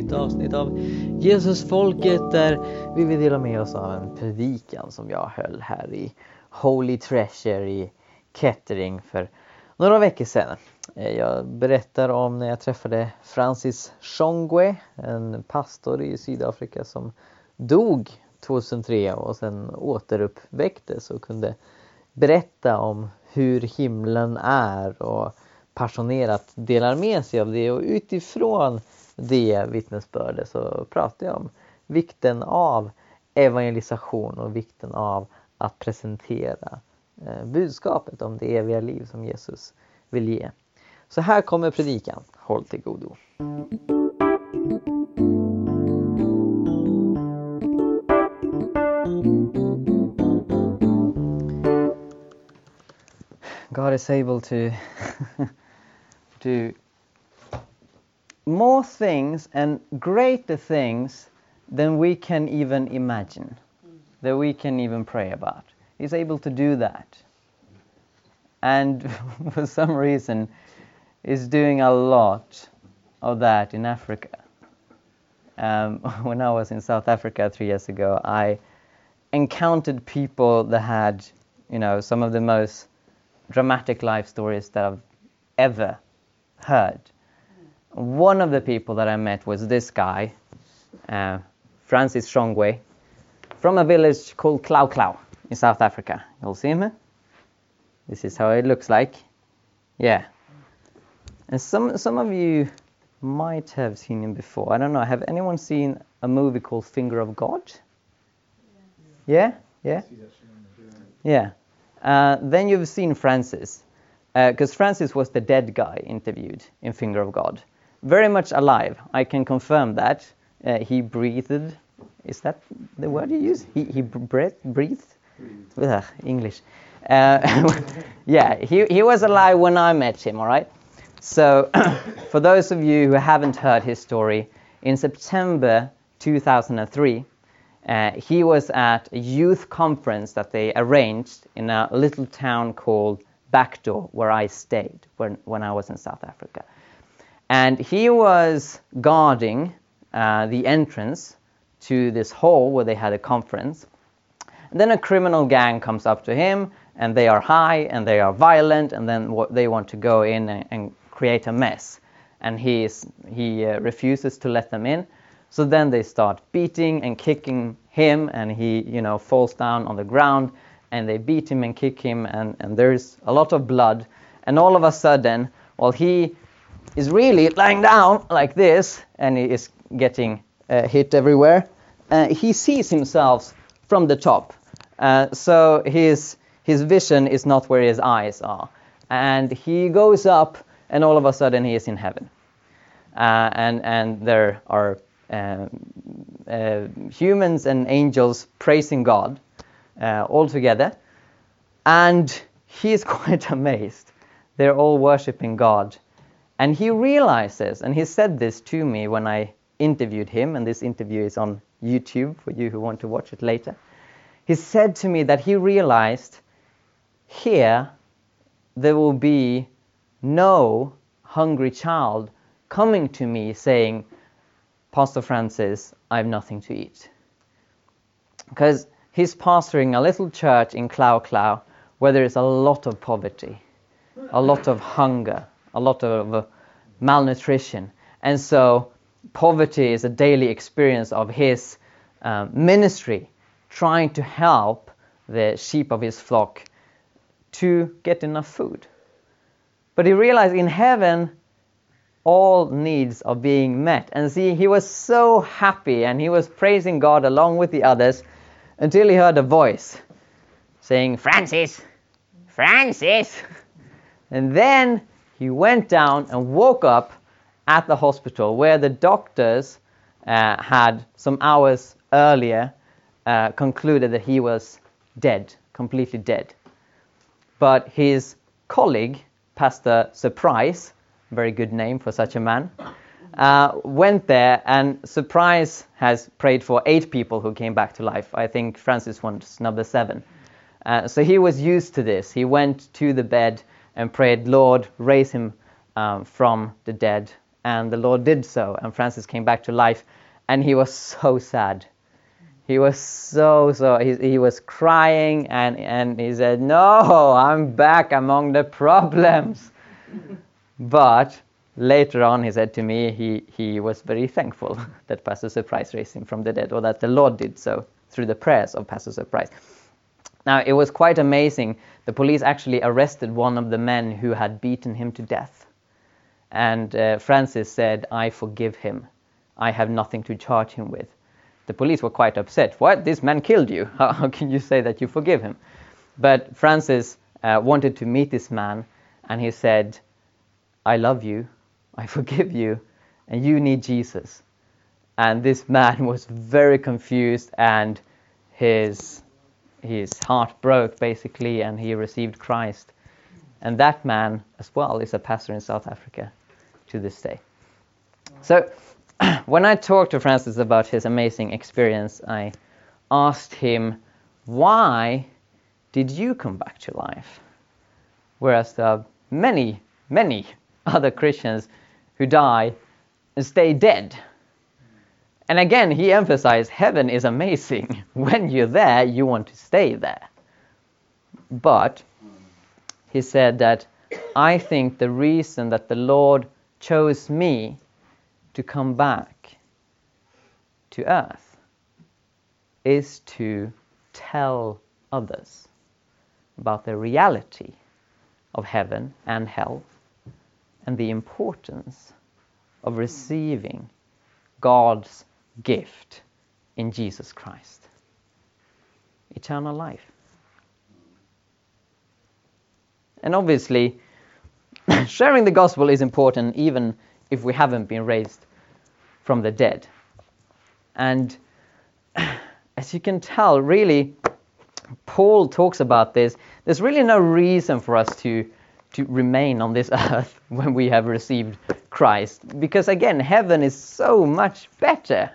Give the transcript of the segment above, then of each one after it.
nytt avsnitt av Jesusfolket där vi vill dela med oss av en predikan som jag höll här i Holy Treasure i Kettering för några veckor sedan. Jag berättar om när jag träffade Francis Shongwe, en pastor i Sydafrika som dog 2003 och sen återuppväcktes och kunde berätta om hur himlen är och passionerat delar med sig av det. Och utifrån det vittnesbördet så pratar jag om vikten av evangelisation och vikten av att presentera budskapet om det eviga liv som Jesus vill ge. Så här kommer predikan. Håll till godo. God is able to do more things and greater things than we can even imagine, that we can even pray about. He's able to do that. And for some reason, is doing a lot of that in Africa. When I was in South Africa 3 years ago, I encountered people that had, some of the most dramatic life stories that I've ever heard. One of the people that I met was this guy, Francis Shongwe, from a village called Klau Klau in South Africa. You'll see him here. This is how it looks like. Yeah. And some of you might have seen him before. I don't know. Have anyone seen a movie called Finger of God? Yeah? Yeah? Yeah. Then you've seen Francis. Because Francis was the dead guy interviewed in Finger of God. Very much alive. I can confirm that. He breathed. Is that the word you use? He breathed? Ugh, English. Yeah, he was alive when I met him, all right? So, for those of you who haven't heard his story, in September 2003, he was at a youth conference that they arranged in a little town called Backdoor, where I stayed when I was in South Africa. And he was guarding the entrance to this hall where they had a conference. And then a criminal gang comes up to him, and they are high, and they are violent, and then they want to go in and create a mess. And he refuses to let them in. So then they start beating and kicking him, and he, falls down on the ground, and they beat him and kick him, and there's a lot of blood. And all of a sudden, while he is really lying down like this, and he is getting hit everywhere, he sees himself from the top. So his vision is not where his eyes are. And he goes up, and all of a sudden he is in heaven. And there are humans and angels praising God all together. And he is quite amazed. They're all worshiping God. And he realizes, and he said this to me when I interviewed him, and this interview is on YouTube for you who want to watch it later. He said to me that he realized here there will be no hungry child coming to me saying, Pastor Francis, I have nothing to eat. Because he's pastoring a little church in Klau Klau where there is a lot of poverty, a lot of hunger, a lot of malnutrition. And so poverty is a daily experience of his ministry, trying to help the sheep of his flock to get enough food. But he realized in heaven, all needs are being met. And see, he was so happy, and he was praising God along with the others until he heard a voice saying, Francis, Francis. And then he went down and woke up at the hospital where the doctors had some hours earlier concluded that he was dead, completely dead. But his colleague, Pastor Surprise, very good name for such a man, went there, and Surprise has prayed for 8 people who came back to life. I think Francis was number 7. So he was used to this. He went to the bed and prayed, Lord, raise him from the dead. And the Lord did so, and Francis came back to life, and he was so sad. He was he was crying, and he said, "No, I'm back among the problems." But later on, he said to me, he was very thankful that Pastor Surprise raised him from the dead, or that the Lord did so through the prayers of Pastor Surprise. Now, it was quite amazing. The police actually arrested one of the men who had beaten him to death. And Francis said, "I forgive him. I have nothing to charge him with." The police were quite upset. "What? This man killed you. How can you say that you forgive him?" But Francis wanted to meet this man, and he said, "I love you, I forgive you, and you need Jesus." And this man was very confused, and his heart broke, basically, and he received Christ. And that man, as well, is a pastor in South Africa to this day. So, when I talked to Francis about his amazing experience, I asked him, "Why did you come back to life? Whereas there are many, many other Christians who die and stay dead." And again, he emphasized heaven is amazing. When you're there, you want to stay there. But he said that, "I think the reason that the Lord chose me to come back to earth is to tell others about the reality of heaven and hell, and the importance of receiving God's gift in Jesus Christ, eternal life." And obviously, sharing the gospel is important even if we haven't been raised from the dead. And as you can tell, really, Paul talks about this. There's really no reason for us to remain on this earth when we have received Christ, because again, heaven is so much better.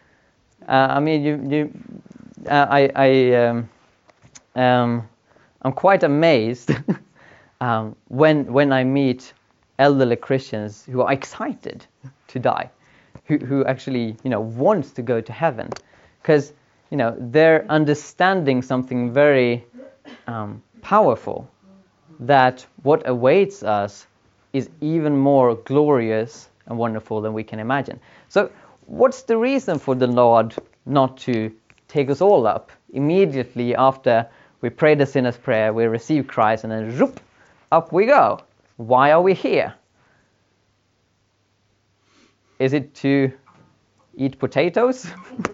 I'm quite amazed when I meet elderly Christians who are excited to die, who actually wants to go to heaven, because they're understanding something very powerful, that what awaits us is even more glorious and wonderful than we can imagine. So what's the reason for the Lord not to take us all up immediately after we pray the sinner's prayer, we receive Christ, and then zoop, up we go? Why are we here? Is it to eat potatoes?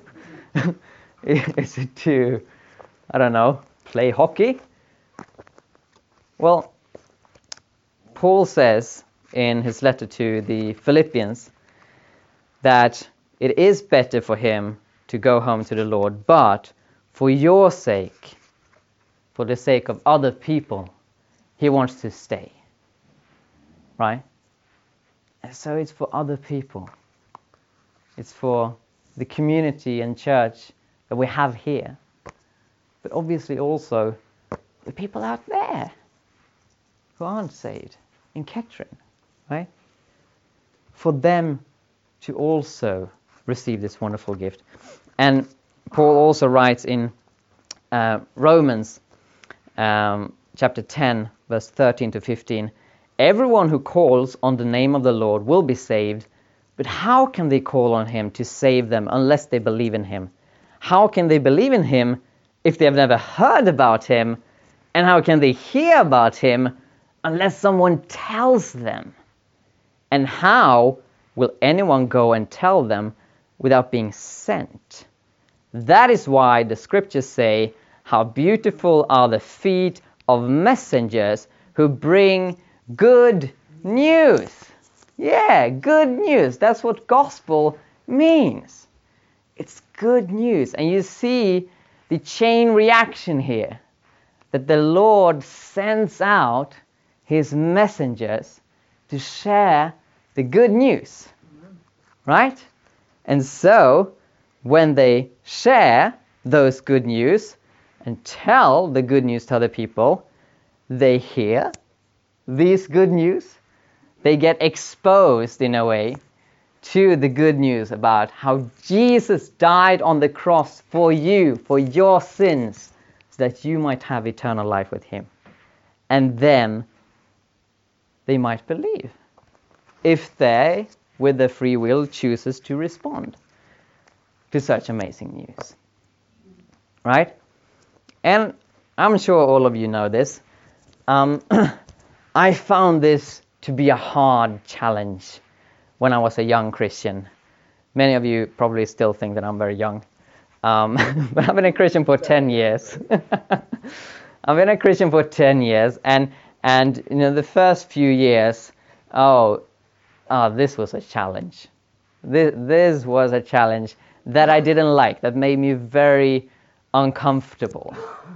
Is it to, I don't know, play hockey? Well, Paul says in his letter to the Philippians that it is better for him to go home to the Lord, but for your sake, for the sake of other people, he wants to stay. Right? And so it's for other people. It's for the community and church that we have here, but obviously also the people out there who aren't saved in Kettering, right? For them to also receive this wonderful gift. And Paul also writes in Romans chapter 10, verse 13 to 15, "Everyone who calls on the name of the Lord will be saved, but how can they call on him to save them unless they believe in him? How can they believe in him if they have never heard about him? And how can they hear about him unless someone tells them? And how will anyone go and tell them without being sent? That is why the scriptures say, how beautiful are the feet of messengers who bring good news." Yeah, good news. That's what gospel means. It's good news. And you see the chain reaction here, that the Lord sends out his messengers to share the good news. Right? And so, when they share those good news and tell the good news to other people, they hear these good news, they get exposed in a way to the good news about how Jesus died on the cross for you, for your sins, so that you might have eternal life with him. And then they might believe, if they, with their free will, chooses to respond to such amazing news. Right? And I'm sure all of you know this. I found this to be a hard challenge when I was a young Christian. Many of you probably still think that I'm very young. But I've been a Christian for 10 years. I've been a Christian for 10 years, and the first few years, this was a challenge. This was a challenge that I didn't like, that made me very uncomfortable.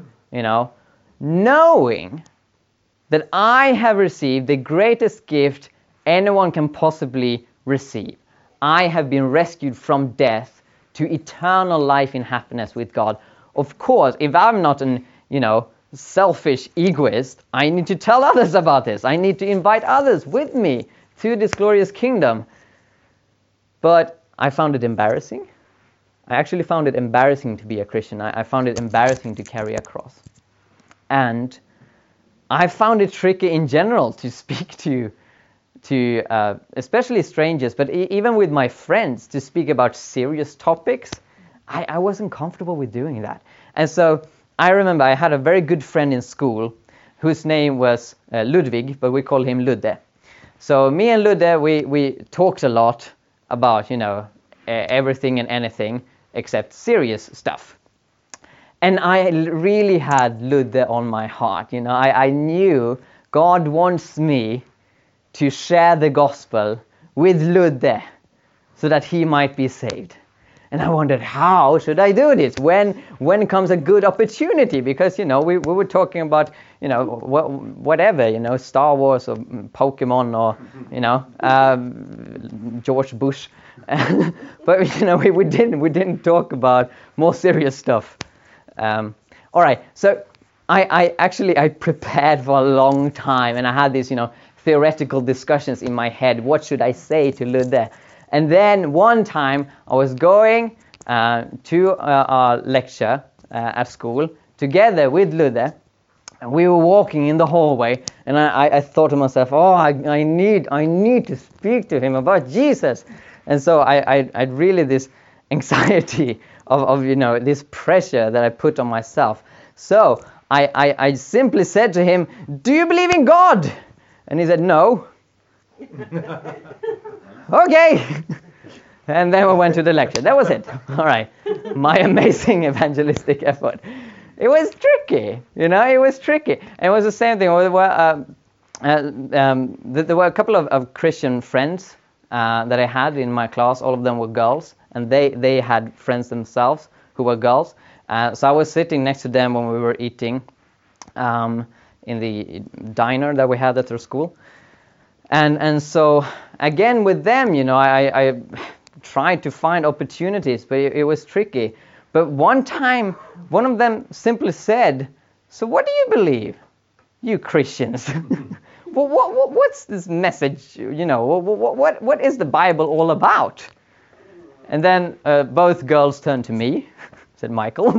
Knowing that I have received the greatest gift anyone can possibly receive. I have been rescued from death to eternal life in happiness with God. Of course, if I'm not an, selfish egoist, I need to tell others about this. I need to invite others with me to this glorious kingdom. But I found it embarrassing. I actually found it embarrassing to be a Christian. I found it embarrassing to carry a cross. And I found it tricky in general to speak to especially strangers, but even with my friends, to speak about serious topics. I wasn't comfortable with doing that. And so I remember I had a very good friend in school whose name was Ludwig, but we call him Ludde. So me and Ludde, we talked a lot about, everything and anything except serious stuff. And I really had Ludde on my heart. I knew God wants me to share the gospel with Ludde so that he might be saved. And I wondered, how should I do this? When comes a good opportunity? Because, we were talking about, whatever, Star Wars or Pokemon or, George Bush. But, we didn't talk about more serious stuff. All right, so I prepared for a long time, and I had these, theoretical discussions in my head. What should I say to Ludde? And then one time I was going to a lecture at school together with Ludde, and we were walking in the hallway, and I thought to myself, I need to speak to him about Jesus. And so I really this anxiety of this pressure that I put on myself. So I simply said to him, "Do you believe in God?" And he said, "No." Okay. And then we went to the lecture. That was it. All right. My amazing evangelistic effort. It was tricky, it was tricky. And it was the same thing. There were a couple of Christian friends that I had in my class. All of them were girls, and they had friends themselves who were girls. So I was sitting next to them when we were eating in the diner that we had at our school. And so again with them, I tried to find opportunities, but it was tricky. But one time, one of them simply said, "So what do you believe, you Christians?" What's this message? What is the Bible all about? And then both girls turned to me, said Michael,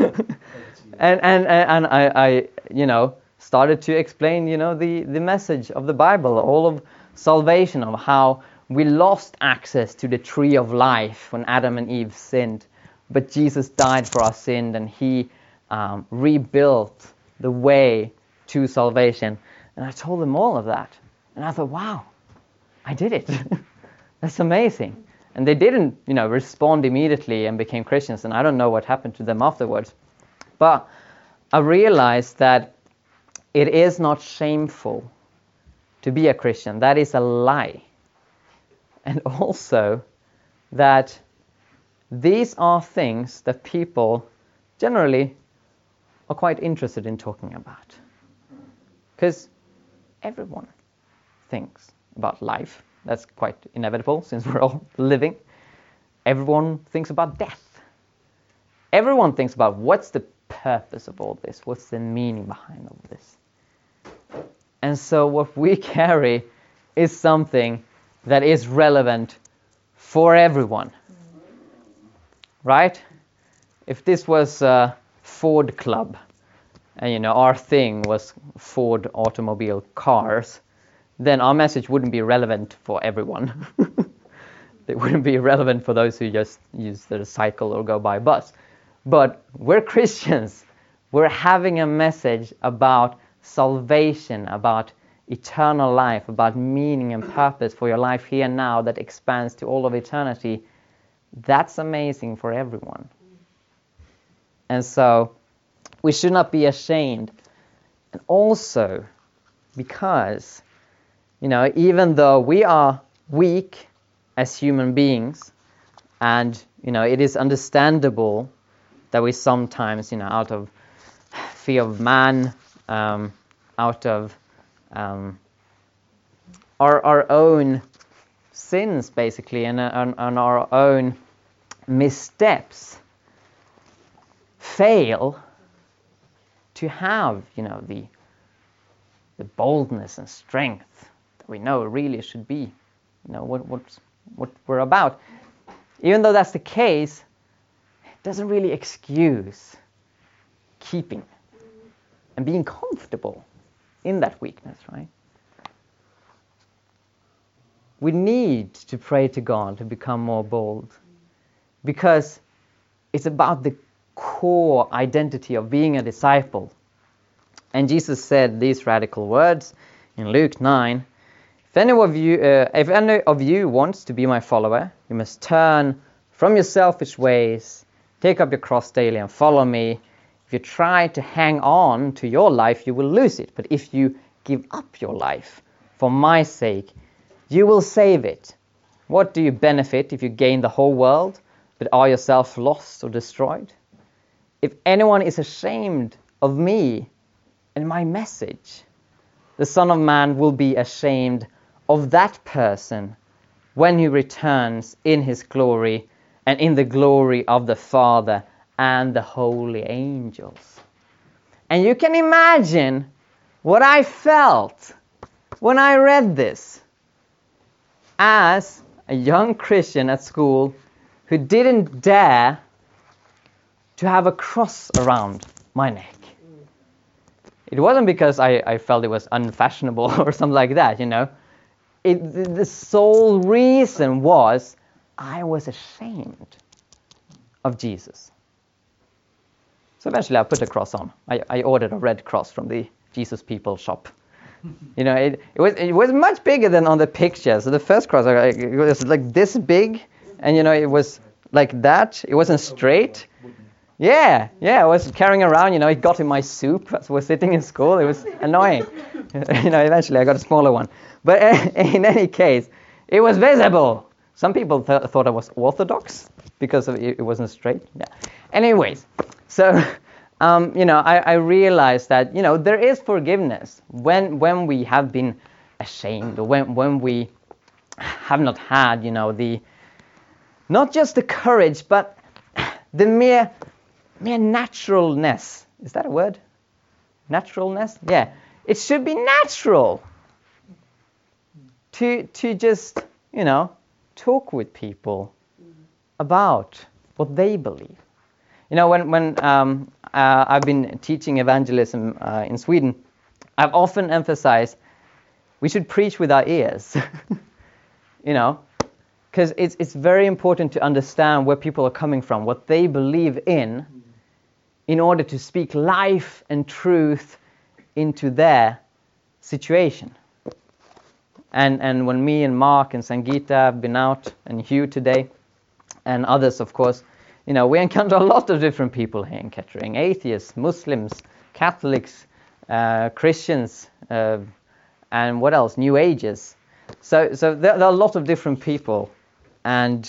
and I started to explain, the message of the Bible, all of salvation, of how we lost access to the tree of life when Adam and Eve sinned, but Jesus died for our sin, and he rebuilt the way to salvation. And I told them all of that, and I thought, wow, I did it. That's amazing. And they didn't, respond immediately and became Christians, and I don't know what happened to them afterwards. But I realized that it is not shameful to be a Christian. That is a lie. And also that these are things that people generally are quite interested in talking about. Because everyone thinks about life. That's quite inevitable since we're all living. Everyone thinks about death. Everyone thinks about what's the purpose of all this? What's the meaning behind all this? And so what we carry is something that is relevant for everyone. Right? If this was a Ford Club, and our thing was Ford automobile cars, then our message wouldn't be relevant for everyone. It wouldn't be relevant for those who just use the cycle or go by bus. But we're Christians. We're having a message about salvation, about eternal life, about meaning and purpose for your life here and now that expands to all of eternity. That's amazing for everyone. And so we should not be ashamed. And also because, even though we are weak as human beings, and, it is understandable that we sometimes, out of fear of man, out of our own sins, basically, and our own missteps, fail to have, the boldness and strength that we know really should be, what we're about. Even though that's the case, it doesn't really excuse keeping and being comfortable in that weakness, right? We need to pray to God to become more bold, because it's about the core identity of being a disciple. And Jesus said these radical words in Luke 9, if any of you wants to be my follower, you must turn from your selfish ways, take up your cross daily and follow me. If you try to hang on to your life, you will lose it. But if you give up your life for my sake, you will save it. What do you benefit if you gain the whole world, but are yourself lost or destroyed? If anyone is ashamed of me and my message, the Son of Man will be ashamed of that person when he returns in his glory and in the glory of the Father and the holy angels. And you can imagine what I felt when I read this as a young Christian at school who didn't dare to have a cross around my neck. It wasn't because I felt it was unfashionable or something like that, The sole reason was I was ashamed of Jesus. So eventually I put a cross on. I ordered a red cross from the Jesus People shop. It was much bigger than on the picture. So the first cross, it was like this big, and it was like that. It wasn't straight. Yeah, I was carrying around, it got in my soup as we were sitting in school. It was annoying. Eventually I got a smaller one. But in any case, it was visible. Some people thought I was Orthodox because it wasn't straight. Yeah. Anyways, so, I realized that, there is forgiveness when we have been ashamed, or when we have not had, not just the courage, but the mere naturalness. Is that a word? Naturalness? Yeah. It should be natural to just, talk with people about what they believe. When I've been teaching evangelism in Sweden, I've often emphasized we should preach with our ears. Because it's very important to understand where people are coming from, what they believe in order to speak life and truth into their situation. And when me and Mark and Sangeeta have been out, and Hugh today, and others, of course, we encounter a lot of different people here in Kettering: atheists, Muslims, Catholics, Christians, and what else? New Agers. So there are a lot of different people, and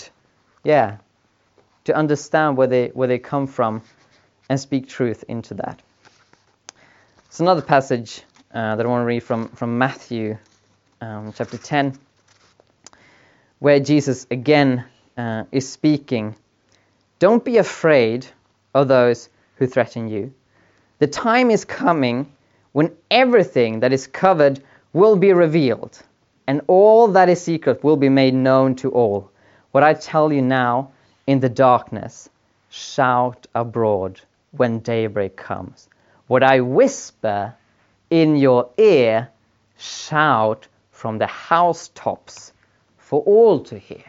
to understand where they come from and speak truth into that. It's another passage that I want to read from Matthew chapter 10, where Jesus again is speaking. Don't be afraid of those who threaten you. The time is coming when everything that is covered will be revealed, and all that is secret will be made known to all. What I tell you now in the darkness, shout abroad when daybreak comes. What I whisper in your ear, shout from the housetops for all to hear.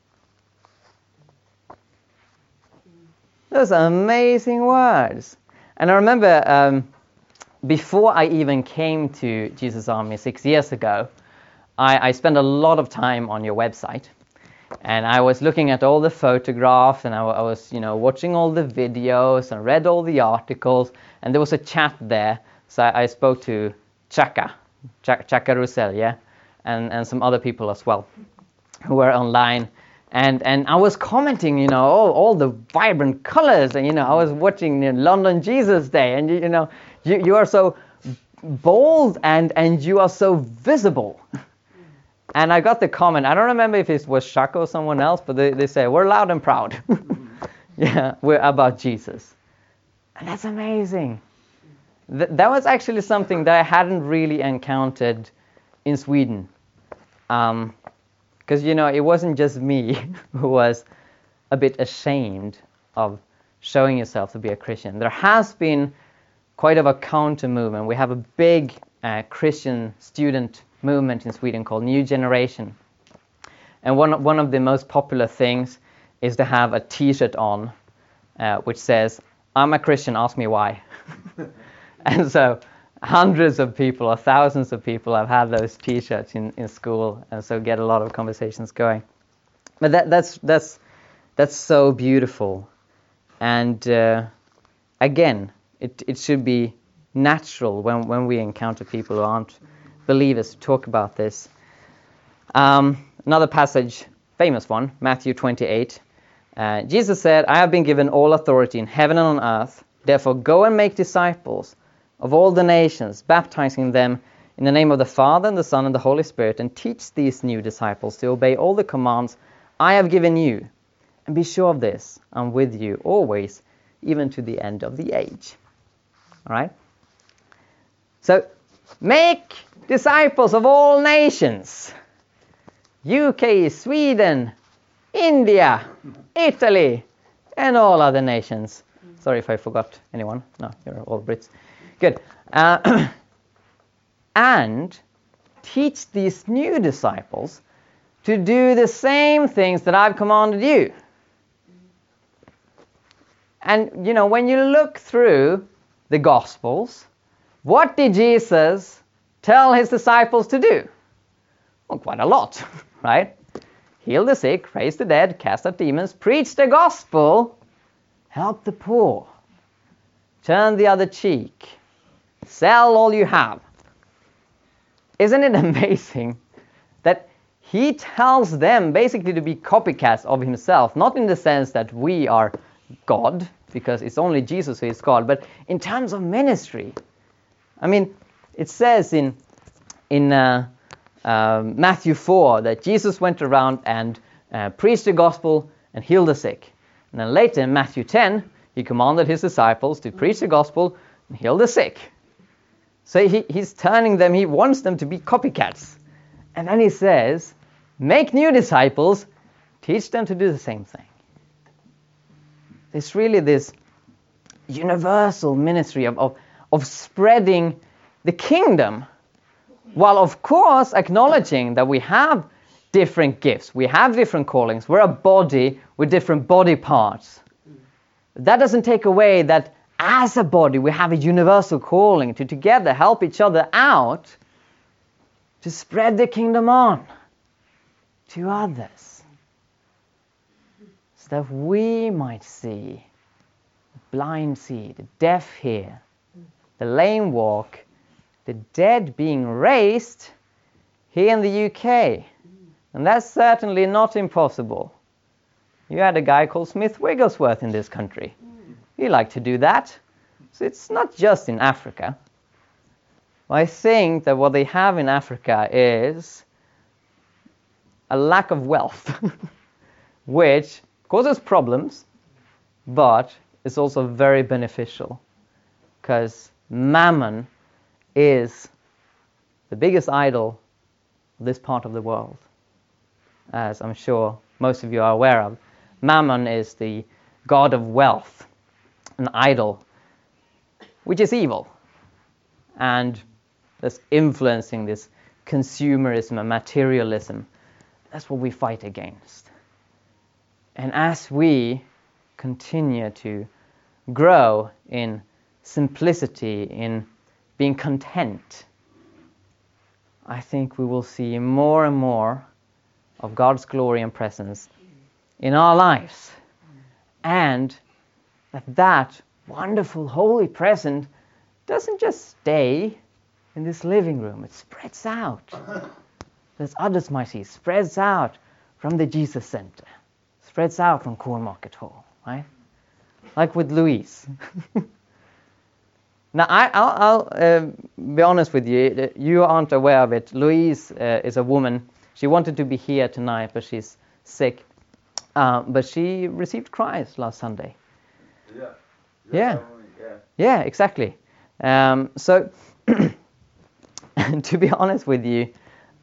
Those are amazing words. And I remember before I even came to Jesus Army 6 years ago, I spent a lot of time on your website. And I was looking at all the photographs, and I was, watching all the videos and read all the articles. And there was a chat there, so I spoke to Chaka Roussel, yeah, and some other people as well, who were online. And I was commenting, all the vibrant colors, and I was watching London Jesus Day, and you are so bold and you are so visible. And I got the comment, I don't remember if it was Shaka or someone else, but they say, we're loud and proud. Yeah, we're about Jesus. And that's amazing. That was actually something that I hadn't really encountered in Sweden. Because, it wasn't just me who was a bit ashamed of showing yourself to be a Christian. There has been quite of a counter movement. We have a big Christian student movement in Sweden called New Generation. And one of the most popular things is to have a t-shirt on which says, I'm a Christian, ask me why. And so hundreds of people or thousands of people have had those t-shirts in school, and so get a lot of conversations going. But that's so beautiful. And again, it should be natural when we encounter people who aren't believers to talk about this. Another passage, famous one, Matthew 28. Jesus said, I have been given all authority in heaven and on earth. Therefore go and make disciples of all the nations, baptizing them in the name of the Father and the Son and the Holy Spirit, and teach these new disciples to obey all the commands I have given you. And be sure of this, I'm with you always, even to the end of the age. All right? So, make disciples of all nations. UK, Sweden, India, Italy, and all other nations. Sorry if I forgot anyone. No, you're all Brits. Good. And teach these new disciples to do the same things that I've commanded you. And, when you look through the Gospels, what did Jesus tell his disciples to do? Well, quite a lot, right? Heal the sick, raise the dead, cast out demons, preach the gospel, help the poor, turn the other cheek, sell all you have. Isn't it amazing that he tells them basically to be copycats of himself, not in the sense that we are God, because it's only Jesus who is God, but in terms of ministry. I mean, it says in Matthew 4 that Jesus went around and preached the gospel and healed the sick. And then later in Matthew 10, he commanded his disciples to preach the gospel and heal the sick. So he's turning them, he wants them to be copycats. And then he says, make new disciples, teach them to do the same thing. It's really this universal ministry of spreading the kingdom, while of course acknowledging that we have different gifts, we have different callings, we're a body with different body parts. That doesn't take away that as a body we have a universal calling to together help each other out to spread the kingdom on to others, so that we might see, the blind see, the deaf hear, the lame walk, the dead being raised here in the UK. And that's certainly not impossible. You had a guy called Smith Wigglesworth in this country. He liked to do that. So it's not just in Africa. I think that what they have in Africa is a lack of wealth, which causes problems, but it's also very beneficial, because mammon is the biggest idol this part of the world, as I'm sure most of you are aware of. Mammon is the god of wealth, an idol, which is evil, and that's influencing this consumerism and materialism. That's what we fight against. And as we continue to grow in simplicity, in being content, I think we will see more and more of God's glory and presence in our lives. And that wonderful holy presence doesn't just stay in this living room, it spreads out. As others might see, spreads out from the Jesus Center, spreads out from Cornmarket Hall, right? Like with Louise. Now, I'll be honest with you, you aren't aware of it. Louise is a woman. She wanted to be here tonight, but she's sick. But she received Christ last Sunday. Yeah, exactly. So, to be honest with you,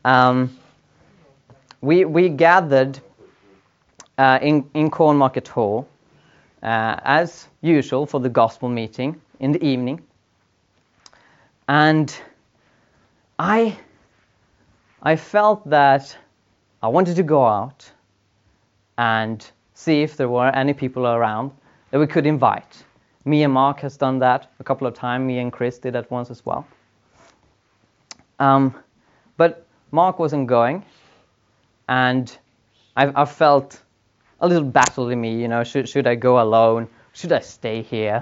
we gathered in Cornmarket Hall, as usual, for the gospel meeting in the evening. And I felt that I wanted to go out and see if there were any people around that we could invite. Me and Mark has done that a couple of times. Me and Chris did that once as well. But Mark wasn't going, and I felt a little battle in me. Should I go alone? Should I stay here?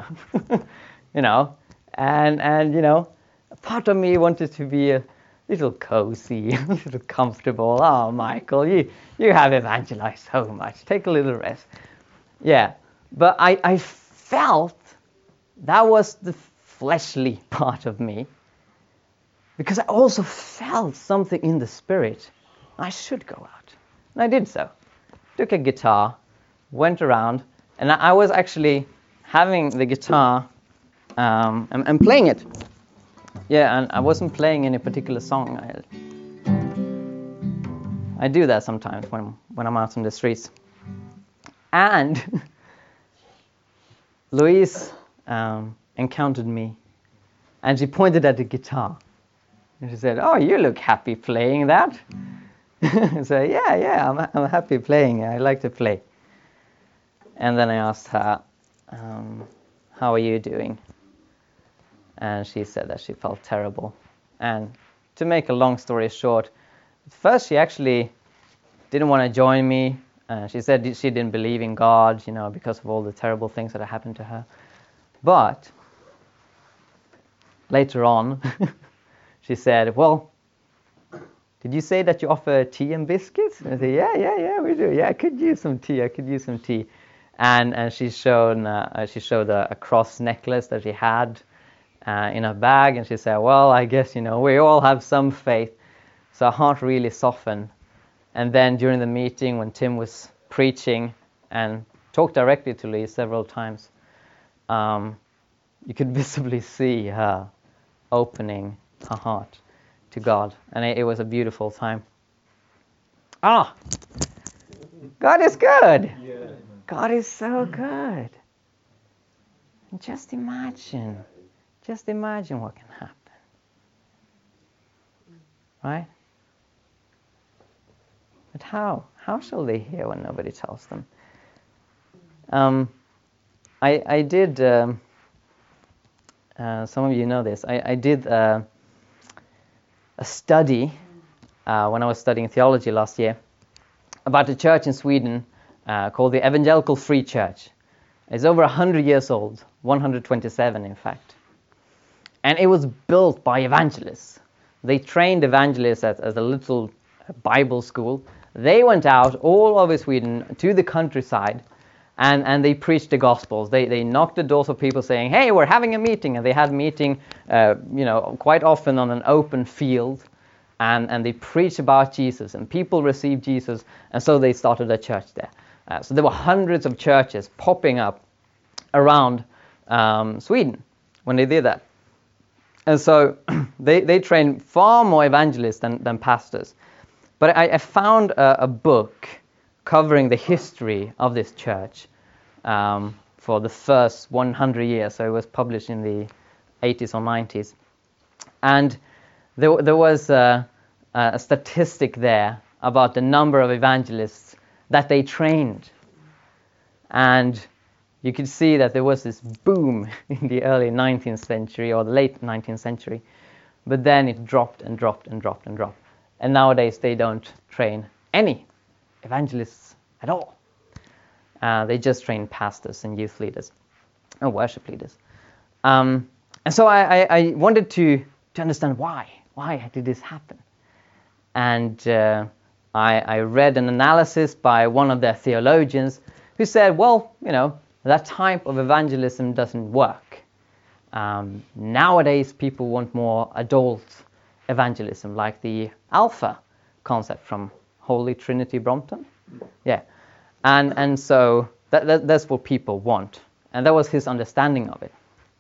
And a part of me wanted to be a little cozy, a little comfortable. Oh, Michael, you have evangelized so much. Take a little rest. Yeah, but I felt that was the fleshly part of me, because I also felt something in the spirit. I should go out. And I did so. Took a guitar, went around, and I was actually having the guitar and playing it. Yeah, and I wasn't playing any particular song. I do that sometimes when I'm out in the streets. And Louise encountered me, and she pointed at the guitar. And she said, "Oh, you look happy playing that." I said, "Yeah, I'm happy playing. I like to play." And then I asked her, "How are you doing?" And she said that she felt terrible. And to make a long story short, at first she actually didn't want to join me. She said she didn't believe in God, because of all the terrible things that had happened to her. But later on, she said, "Well, did you say that you offer tea and biscuits?" And I said, yeah, we do. Yeah, I could use some tea. And she showed a cross necklace that she had in her bag, and she said, "Well, I guess, we all have some faith." So her heart really softened. And then during the meeting, when Tim was preaching and talked directly to Lee several times, you could visibly see her opening her heart to God. And it was a beautiful time. God is good. Yeah. God is so good. And just imagine what can happen. Right? But how? How shall they hear when nobody tells them? I did, some of you know this, I did a study when I was studying theology last year about a church in Sweden called the Evangelical Free Church. It's over 100 years old, 127 in fact. And it was built by evangelists. They trained evangelists at a little Bible school. They went out all over Sweden to the countryside and they preached the Gospels. They knocked the doors of people saying, "Hey, we're having a meeting." And they had a meeting, quite often on an open field. And they preached about Jesus, and people received Jesus, and so they started a church there. So there were hundreds of churches popping up around Sweden when they did that. And so they trained far more evangelists than pastors. But I found a book covering the history of this church for the first 100 years. So it was published in the 80s or 90s. And there was a statistic there about the number of evangelists that they trained. And you could see that there was this boom in the early 19th century or the late 19th century. But then it dropped and dropped and dropped and dropped. And nowadays they don't train any evangelists at all. They just train pastors and youth leaders and worship leaders. And so I wanted to understand why. Why did this happen? And I read an analysis by one of their theologians who said, well, that type of evangelism doesn't work. Nowadays, people want more adult evangelism, like the Alpha concept from Holy Trinity Brompton. Yeah. And so that's what people want. And that was his understanding of it.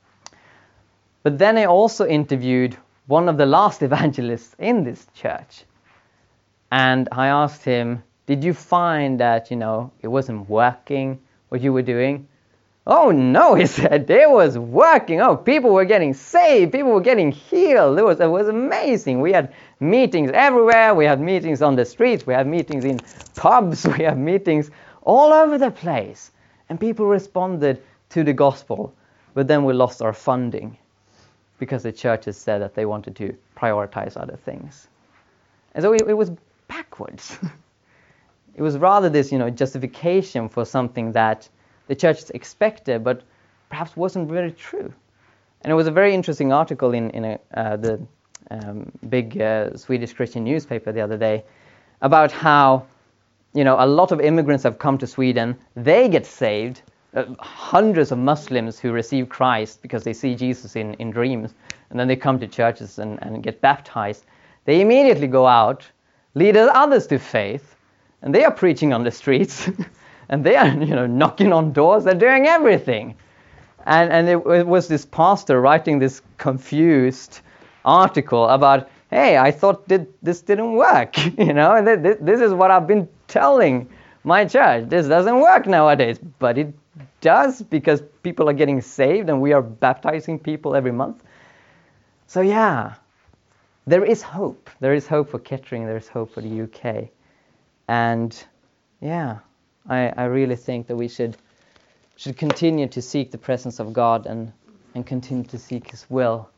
But then I also interviewed one of the last evangelists in this church. And I asked him, did you find that, it wasn't working, what you were doing? Oh, no, he said, it was working. Oh, people were getting saved. People were getting healed. It was amazing. We had meetings everywhere. We had meetings on the streets. We had meetings in pubs. We had meetings all over the place. And people responded to the gospel. But then we lost our funding because the churches said that they wanted to prioritize other things. And so it was backwards. It was rather this, justification for something that the church expected, but perhaps wasn't really true. And it was a very interesting article in the big Swedish Christian newspaper the other day about how, a lot of immigrants have come to Sweden. They get saved. Hundreds of Muslims who receive Christ because they see Jesus in dreams, and then they come to churches and get baptized. They immediately go out, lead others to faith, and they are preaching on the streets. And they are, knocking on doors. They're doing everything. And it was this pastor writing this confused article about, hey, I thought this didn't work. And this is what I've been telling my church. This doesn't work nowadays. But it does, because people are getting saved and we are baptizing people every month. So yeah, there is hope. There is hope for Kettering. There is hope for the UK. And yeah, I really think that we should continue to seek the presence of God and continue to seek His will.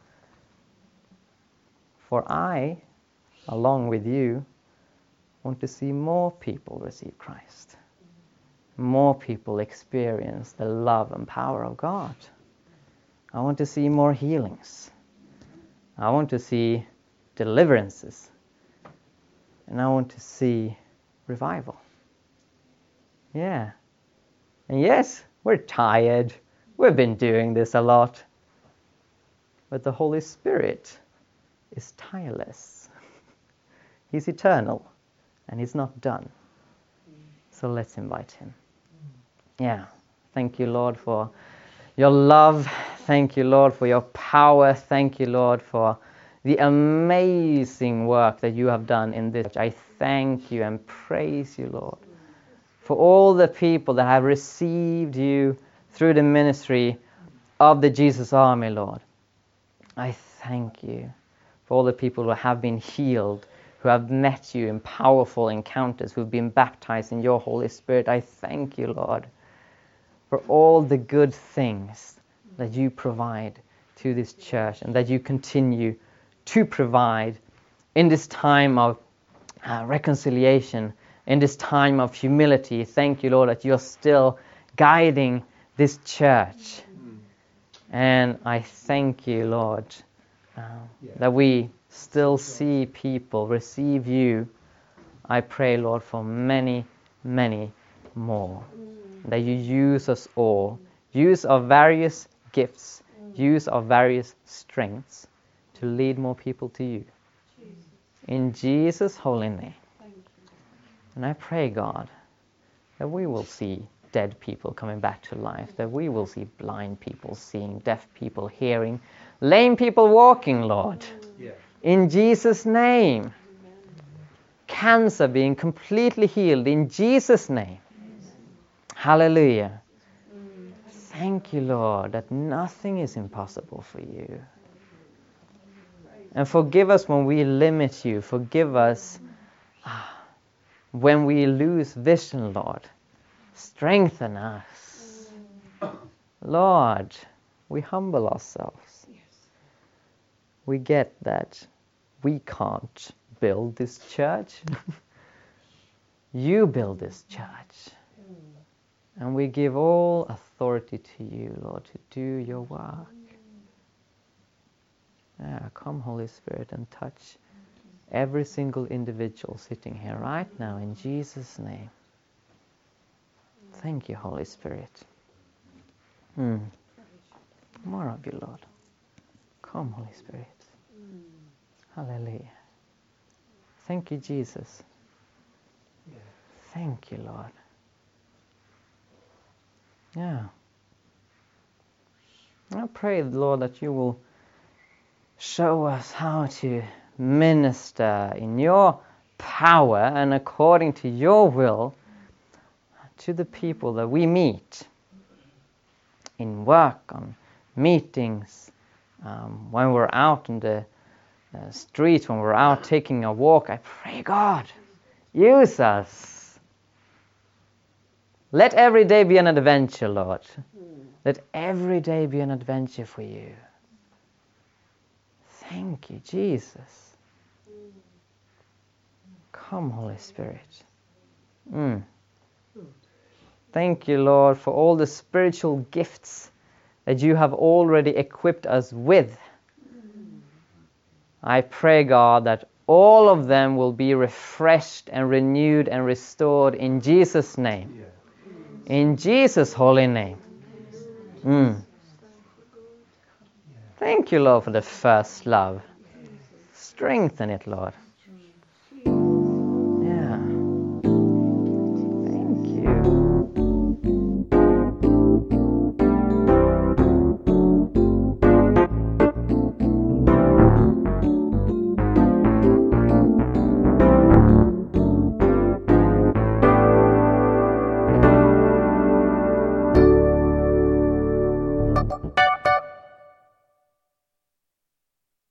For I, along with you, want to see more people receive Christ. More people experience the love and power of God. I want to see more healings. I want to see deliverances. And I want to see revival. Yeah. And yes, we're tired. We've been doing this a lot. But the Holy Spirit is tireless. He's eternal. And He's not done. So let's invite Him. Yeah. Thank you, Lord, for your love. Thank you, Lord, for your power. Thank you, Lord, for the amazing work that you have done in this church. I thank you and praise you, Lord, for all the people that have received you through the ministry of the Jesus Army, Lord. I thank you for all the people who have been healed, who have met you in powerful encounters, who have been baptized in your Holy Spirit. I thank you, Lord, for all the good things that you provide to this church and that you continue to provide in this time of reconciliation, in this time of humility. Thank you, Lord, that you're still guiding this church. And I thank you, Lord, that we still see people receive you. I pray, Lord, for many, many more. That you use us all. Use our various gifts. Use our various strengths to lead more people to you. In Jesus' holy name. And I pray, God, that we will see dead people coming back to life, that we will see blind people seeing, deaf people hearing, lame people walking, Lord. In Jesus' name. cancer being completely healed in Jesus' name. Hallelujah. Thank you, Lord, that nothing is impossible for you. And forgive us when we limit you. Forgive us when we lose vision, Lord. Strengthen us. Lord, we humble ourselves. We get that we can't build this church. You build this church. And we give all authority to you, Lord, to do your work. Come, Holy Spirit, and touch every single individual sitting here right now in Jesus' name. Thank you, Holy Spirit. More of you, Lord. Come, Holy Spirit. Hallelujah. Thank you, Jesus. Thank you, Lord. Yeah. I pray, Lord, that you will show us how to minister in your power and according to your will to the people that we meet in work, on meetings, when we're out in the streets, when we're out taking a walk. I pray, God, use us. Let every day be an adventure, Lord. Let every day be an adventure for you. Thank you, Jesus. Come, Holy Spirit. Thank you, Lord, for all the spiritual gifts that you have already equipped us with. I pray, God, that all of them will be refreshed and renewed and restored in Jesus' name. In Jesus' holy name. Thank you, Lord, for the first love. Strengthen it, Lord.